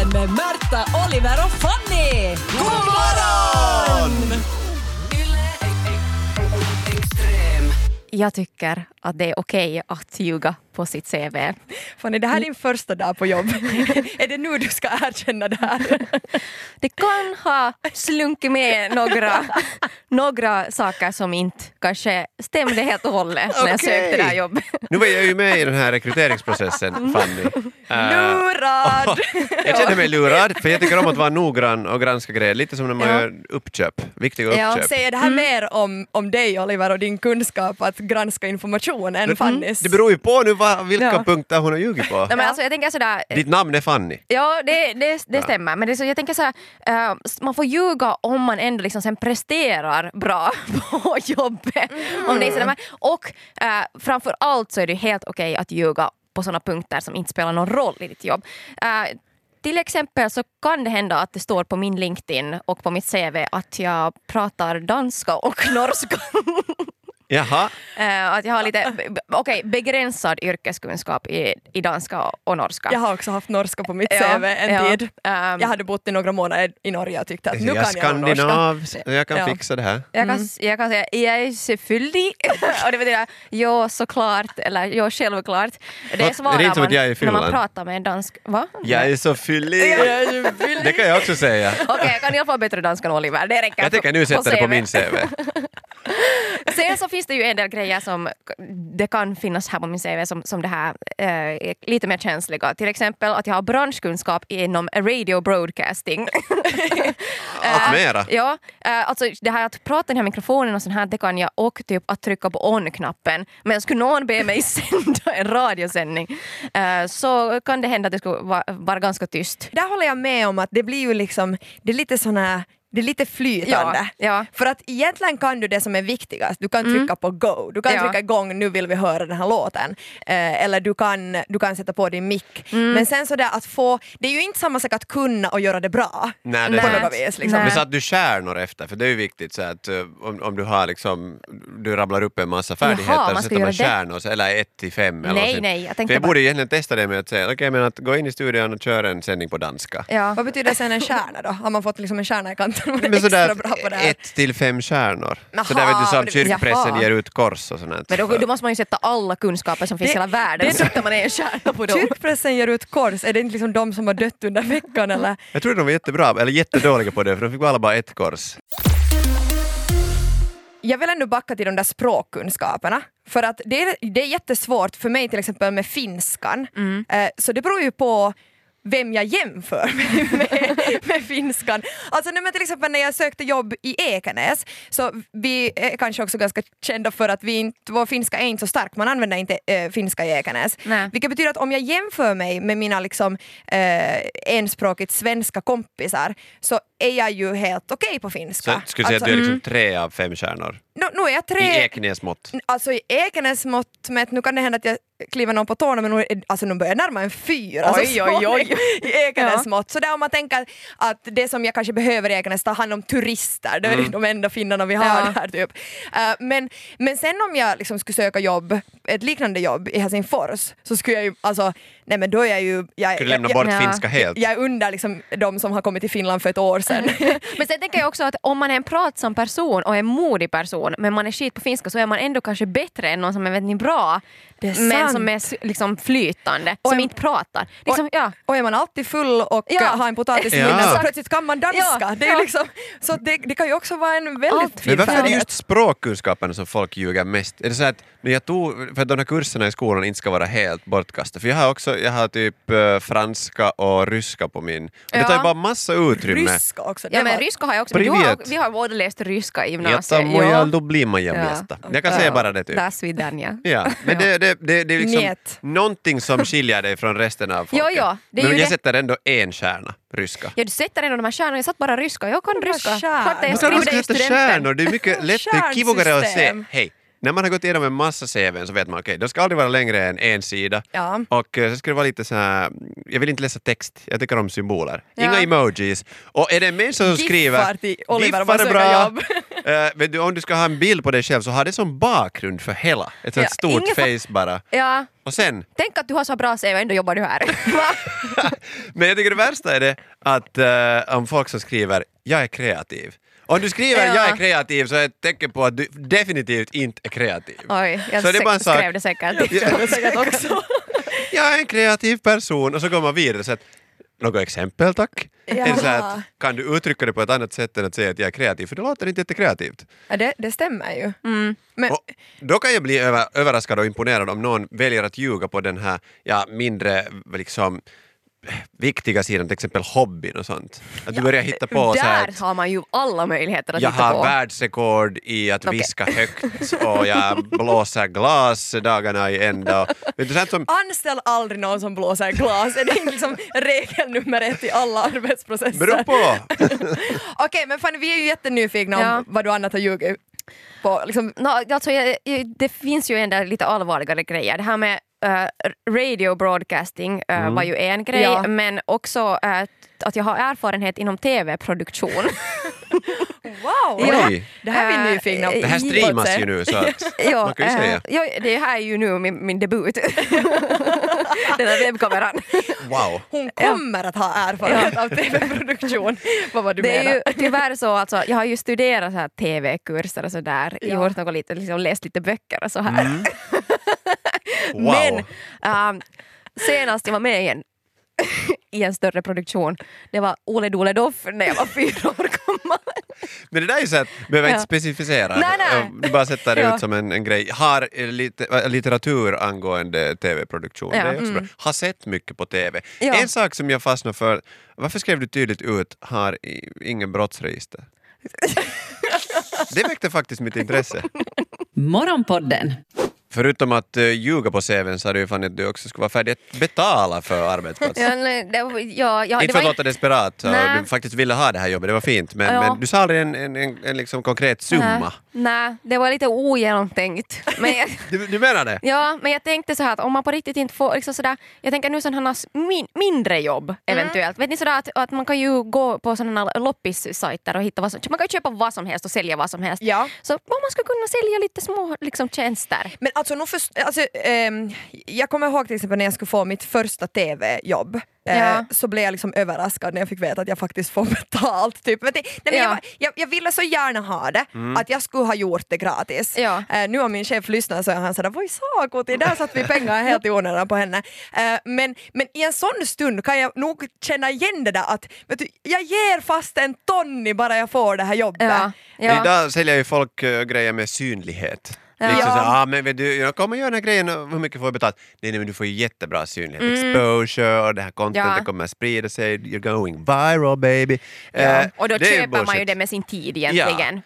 Morgonpodden med Märta, Oliver och Fanny! God morgon! Jag tycker att det är okej att ljuga på sitt CV. Fanny, det här är din första dag på jobb. Är det nu du ska erkänna det här? Det kan ha slunkit med några saker som inte kanske stämde helt och hållet när jag sökte det här jobbet. Nu var jag ju med i den här rekryteringsprocessen, Fanny. Lurad! Jag känner mig lurad, för jag tycker om att vara noggrann och granska grejer. Lite som när man gör uppköp, viktiga uppköp. Säger det här mer om dig, Oliver, och din kunskap att granska information än Fannys? Det beror ju på nu vilka punkter hon har ljugit på. Nej, men alltså, jag tänker sådär, Ditt namn är Fanny. ja, det stämmer. Men det är så, jag tänker så här, man får ljuga om man ändå liksom sen presterar bra på jobbet. Om det är sådär. Och framför allt så är det helt okej att ljuga på sådana punkter som inte spelar någon roll i ditt jobb. Till exempel så kan det hända att det står på min LinkedIn och på mitt CV att jag pratar danska och norska. Jaha. Att jag har lite begränsad yrkeskunskap i danska och norska. Jag har också haft norska på mitt CV en tid. Jag hade bott i några månader i Norge och tyckte att nu kan jag norska. Jag kan fixa det här. Jag kan säga jag är selvfølgelig och det betyder ja såklart eller ja självklart. Det svarar inte som att jag är i när man Finland. pratar med en dansk. Va? Jag är så fyllig. Det kan jag också säga. Okej, jag kan i alla fall bättre danska än Oliver. Det räcker. Jag tänker nu sätta det på min CV. Sen så finns det ju en del grejer som det kan finnas här på min CV som det här är lite mer känsliga. Till exempel att jag har branschkunskap inom radio broadcasting. Allt mera. Ja, alltså det här att prata i den här mikrofonen och sånt här, det kan jag, och typ att trycka på on-knappen. Men skulle någon be mig sända en radiosändning så kan det hända att det skulle vara ganska tyst. Där håller jag med om att det blir ju liksom, det är lite såna. Det är lite flytande. Ja. För att egentligen kan du det som är viktigast. Du kan trycka på go. Du kan trycka igång, nu vill vi höra den här låten. Eller du kan sätta på din mick. Men sen så där att få, det är ju inte samma sak att kunna och göra det bra. Nej, det på är något vis. Liksom. Men så att du stjärnor efter, för det är ju viktigt så att om du har liksom, du rabblar upp en massa färdigheter så sätter man stjärnor, eller 1-5 eller Nej, jag tänkte för jag borde egentligen testa det med att säga, okej, men att gå in i studion och köra en sändning på danska. Ja. Vad betyder sen en stjärna då? Har man fått liksom en stjärna i kanten? Men sådär Bra på det här. 1-5 stjärnor. Jaha, så där vet du som det- kyrkpressen jaha. ger ut kors och sånt. Men då måste man ju sätta alla kunskaper som finns i hela världen. Så sätter man en stjärna på dem. Kyrkpressen ger ut kors. Är det inte liksom de som har dött under veckan eller? Jag tror de var jättebra, eller jättedåliga på det, för de fick alla bara ett kors. Jag vill ändå backa till de där språkkunskaperna. För att det är jättesvårt för mig till exempel med finskan. Så det beror ju på vem jag jämför med finskan. Alltså men till exempel när jag sökte jobb i Ekenäs, så vi är kanske också ganska kända för att vår finska är inte så stark. Man använder inte finska i Ekenäs. Nej. Vilket betyder att om jag jämför mig med mina liksom, enspråkigt svenska kompisar, så är jag ju helt okej på finska. Så skulle säga att du är liksom 3 av 5 stjärnor. Nu är jag 3... I Ekenäs mått. Alltså i Ekenäs mått mätt, nu kan det hända att jag kliver någon på tårna, men nu börjar jag närma en 4. Oj. I Ekenäs mått. Så där om man tänker att det som jag kanske behöver i Ekenäs, tar hand om turister, det är de enda finnarna vi har där typ. Men sen om jag liksom skulle söka jobb, ett liknande jobb i Helsingfors, så skulle jag ju, alltså, nej men då är jag ju... Skulle lämna bort finska helt. Jag är under liksom de som har kommit till Finland för ett år sedan. Men sen tänker jag också att om man är en pratsam person och en modig person, men man är skit på finska, så är man ändå kanske bättre än någon som är väldigt bra, Det är men sant. som är liksom flytande, som inte pratar. Liksom, Och är man alltid full och har en potatis i munnen, så plötsligt kan man danska. Ja. Det är liksom, så det kan ju också vara en väldigt fin Men varför är det färdighet. just språkkunskaperna som folk ljuger mest? Är det så att när jag tog, för att de här kurserna i skolan inte ska vara helt bortkastade? För jag har typ franska och ryska på min. Och det tar ju bara massa utrymme. Ryska också. Ja, men ryska har jag också. Men Privet. vi har båda läst ryska i Jotta gymnasiet. moja lublima mesta. Jag kan säga bara det typ. Där svidanja. Ja, men det är liksom Njet. någonting som skiljer dig från resten av folket. Ja, det är men ju jag det. sätter ändå en stjärna, ryska. Ja, du sätter ändå de här stjärnorna. Jag satt bara ryska. Jag kan ryska. stjärnor. Klart att jag Men så skriver ska det i sätta studenten. stjärnor, det är mycket lättare, kivogare att se. Stjärnsystem. Hej, när man har gått igenom en massa CV:n så vet man, okej, de ska aldrig vara längre än en sida. Ja. Och så ska det vara lite så här, jag vill inte läsa text, jag tycker om symboler. Ja. Inga emojis. Och är det en människa som skriver Giffar till Oliver om man giffar är söker bra, jobb. Vet du, om du ska ha en bild på dig själv så har det som bakgrund för hela. Ett sånt stort face bara. Ja. Och sen... Tänk att du har så bra CV och ändå jobbar du här. Men jag tycker det värsta är det att om folk som skriver jag är kreativ. Om du skriver jag är kreativ så är det ett tecken på att du definitivt inte är kreativ. Oj, jag Så det är bara en sak. skrev det säkert. också. Jag är en kreativ person och så går man vidare så att något exempel tack. Är det så att, kan du uttrycka det på ett annat sätt än att säga att jag är kreativ? För det låter inte jättekreativt. Ja, det stämmer ju. Men, Och då kan jag bli överraskad och imponerad om någon väljer att ljuga på den här mindre liksom viktiga sidan, till exempel hobbyn och sånt. Att du börjar hitta på så här där har man ju alla möjligheter att jag hitta på. har världsrekord i att viska högt och jag blåser glas dagarna i ända. Vet du, sånt som... Anställ aldrig någon som blåser glas. Det är liksom regel nummer 1 i alla arbetsprocesser. Beror på! Okej, men Fanny, vi är ju jättenyfikna om vad du annat har ljugit på. Liksom. Alltså, det finns ju ändå lite allvarligare grejer. Det här med radio broadcasting var ju en grej, men också att jag har erfarenhet inom tv-produktion. Wow! Oj. Det här är vi nyfikna. Det här streamas ju nu så att man kan ju säga. Det här är ju nu min debut. Den här webbkameran. Wow! Hon kommer att ha erfarenhet av tv-produktion. Vad var du Det menar? är ju tyvärr så, alltså, jag har ju studerat så här tv-kurser och sådär, gjort något lite, liksom, läst lite böcker och så här. Wow. Men senast jag var med i en större produktion, det var Ole Dole Doff när jag var 4 år gammal. Men det där är ju så att behöver inte specificera. Nej. Du bara sätter det ut som en grej. Har litteratur angående tv-produktion. Det är också bra. Har sett mycket på tv. En sak som jag fastnar för, varför skrev du tydligt ut har ingen brottsregister? Det väckte faktiskt mitt intresse. Morgonpodden. Förutom att ljuga på CV:n så hade ju fan att du också skulle vara färdig att betala för arbetsplatsen. Inte för att låta desperat och du faktiskt ville ha det här jobbet, det var fint. Men du sa aldrig en liksom konkret summa. Nej, det var lite ogenomtänkt. Men Du menar det? Ja, men jag tänkte så här att om man på riktigt inte får liksom sådär, jag tänker nu sådana mindre jobb eventuellt. Vet ni sådär att man kan ju gå på sådana loppissajter och hitta man kan ju köpa vad som helst och sälja vad som helst. Ja. Så om man skulle kunna sälja lite små liksom tjänster. Men alltså, jag kommer ihåg till exempel när jag skulle få mitt första tv-jobb. Så blev jag liksom överraskad när jag fick veta att jag faktiskt får betalt. Typ. Jag ville så gärna ha det, att jag skulle ha gjort det gratis. Nu har min chef lyssnat så han sa voi saakoti, där satt vi pengar helt i onödan på henne. Men i en sån stund kan jag nog känna igen det där att vet du, jag ger fast en tonni bara jag får det här jobbet. Idag säljer ju folk grejer med synlighet. Liksom så, men vet du, jag kommer göra den här grejen och hur mycket får jag betalt? Nej, men du får ju jättebra synlighet. Exposure och det här contentet kommer att sprida sig. You're going viral, baby. Och då köper man ju det med sin tid egentligen.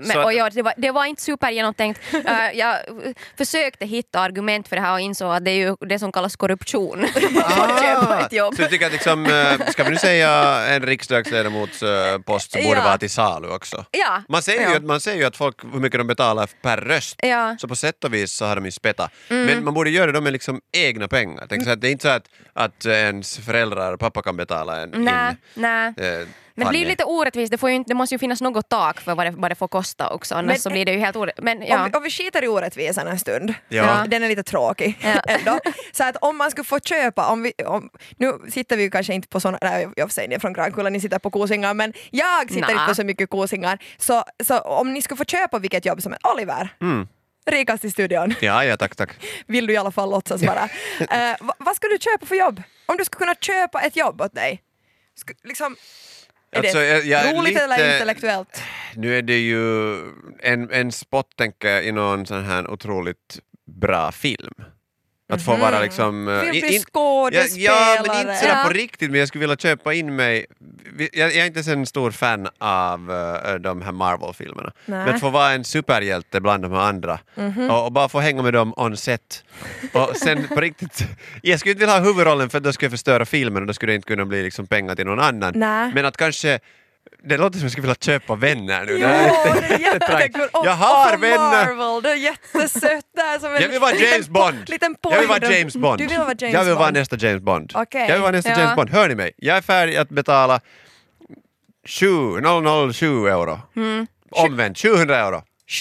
Det var inte supergenomtänkt. Jag försökte hitta argument för det här och insåg att det är ju det som kallas korruption. Att köpa ett jobb. Så du tycker att liksom, ska vi nu säga en riksdagsledamots post så borde vara till salu också? Ja. Man ser ju att folk, hur mycket de betalar per röst. Så på sätt och vis så har de ju spetta. Men man borde göra det med liksom egna pengar. Tänk så att det är inte så att ens föräldrar och pappa kan betala en Nej. Men det blir ju lite orättvist. Det måste ju finnas något tak för vad det får kosta också. Annars så blir det ju helt orättvist. Om vi skiter i orättvisan en stund. Ja. Den är lite tråkig ändå. Så att om man skulle få köpa, nu sitter vi ju kanske inte på sådana, nej jag säger ni från Grankulla, ni sitter på kosingar, men jag sitter inte på så mycket kosingar. Så om ni skulle få köpa vilket jobb som är Oliver. Rikast i studion. Ja, tack. Vill du i alla fall låtsas vara. Vad ska du köpa för jobb? Om du skulle kunna köpa ett jobb åt dig. Liksom, är alltså, det roligt eller intellektuellt? Nu är det ju en spot, tänker jag, i någon sån här otroligt bra film. Att få vara liksom... Vill bli skådespelare. Ja, men inte sådär på riktigt, men jag skulle vilja köpa in mig... Jag är inte så en stor fan av de här Marvel-filmerna. Men att få vara en superhjälte bland de här andra. Och bara få hänga med dem on set. Och sen på riktigt... Jag skulle inte vilja ha huvudrollen för att då skulle jag förstöra filmen och då skulle det inte kunna bli liksom pengar till någon annan. Men att kanske... Det låter som jag skulle vilja köpa vänner nu. Jo, det är jättekul. Jag har vänner. Marvel, det är jättesött där. Som jag vill vara James Bond. Jag vill vara James Bond. Du vill vara James Bond. Jag vill vara nästa James Bond. Okay. Jag vill vara nästa James Bond. Hör ni mig? Jag är färdig att betala 7 euro. Omvänt, 700 euro.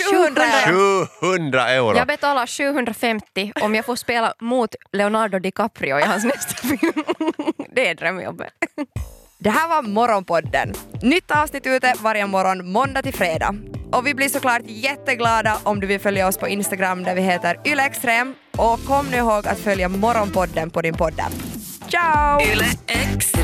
700 euro. Jag betalar 750 om jag får spela mot Leonardo DiCaprio i hans nästa film. Det är drömjobbet. Det här var Morgonpodden. Nytt avsnitt ute varje morgon måndag till fredag. Och vi blir såklart jätteglada om du vill följa oss på Instagram där vi heter ylextrem. Och kom nu ihåg att följa Morgonpodden på din podd. Ciao! Yle X.